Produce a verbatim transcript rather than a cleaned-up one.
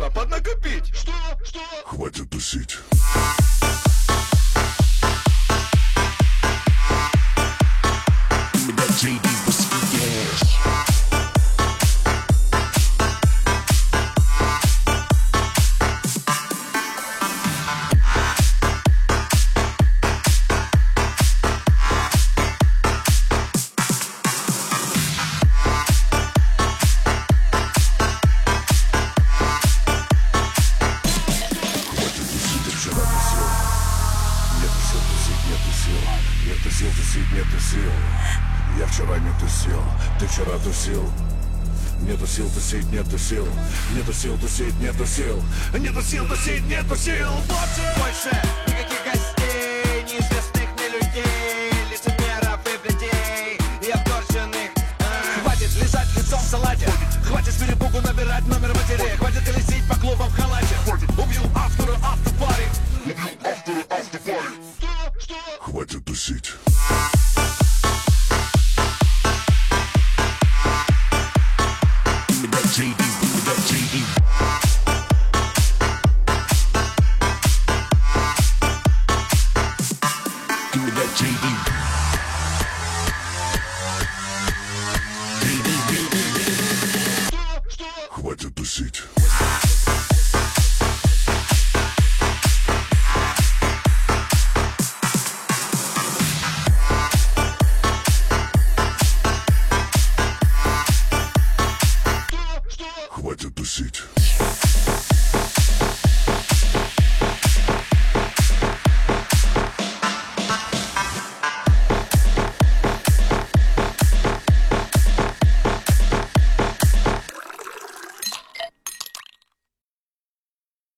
нужно поднакопить. Что? Что? Хватит тусить. джей ди Whiskey Gas. Нету сил тусить, нету сил. Я вчера не тусил, ты вчера тусил. Нету сил тусить, нету сил. Нету сил тусить, нету сил. Нету сил тусить, нету сил. Больше никаких гостей, неизвестных мне людей, лицемеров и бледей, и обторченных. Хватит лежать лицом в салате, хватит с перепугу набирать номер матери, хватит колесить по клубам в халате. Убью автора автопари. Убью автора автопари. Что? Что? Хватит тусить. джей ди, джей ди. Give me that джей ди. Что? Что? Хватит тусить. Хватит тусить.